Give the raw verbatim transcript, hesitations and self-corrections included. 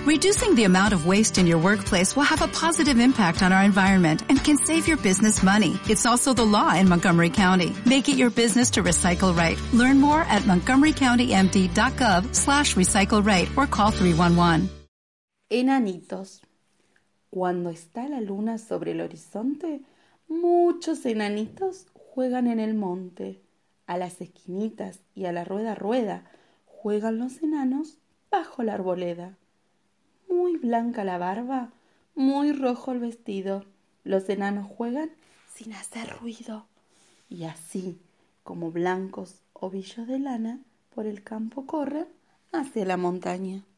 Reducing the amount of waste in your workplace will have a positive impact on our environment and can save your business money. It's also the law in Montgomery County. Make it your business to recycle right. Learn more at montgomery county m d dot gov slash recycle right or call three one one. Enanitos. Cuando está la luna sobre el horizonte, muchos enanitos juegan en el monte. A las esquinitas y a la rueda rueda juegan los enanos bajo la arboleda. Muy blanca la barba, muy rojo el vestido. Los enanos juegan sin hacer ruido. Y así, como blancos ovillos de lana, por el campo corren hacia la montaña.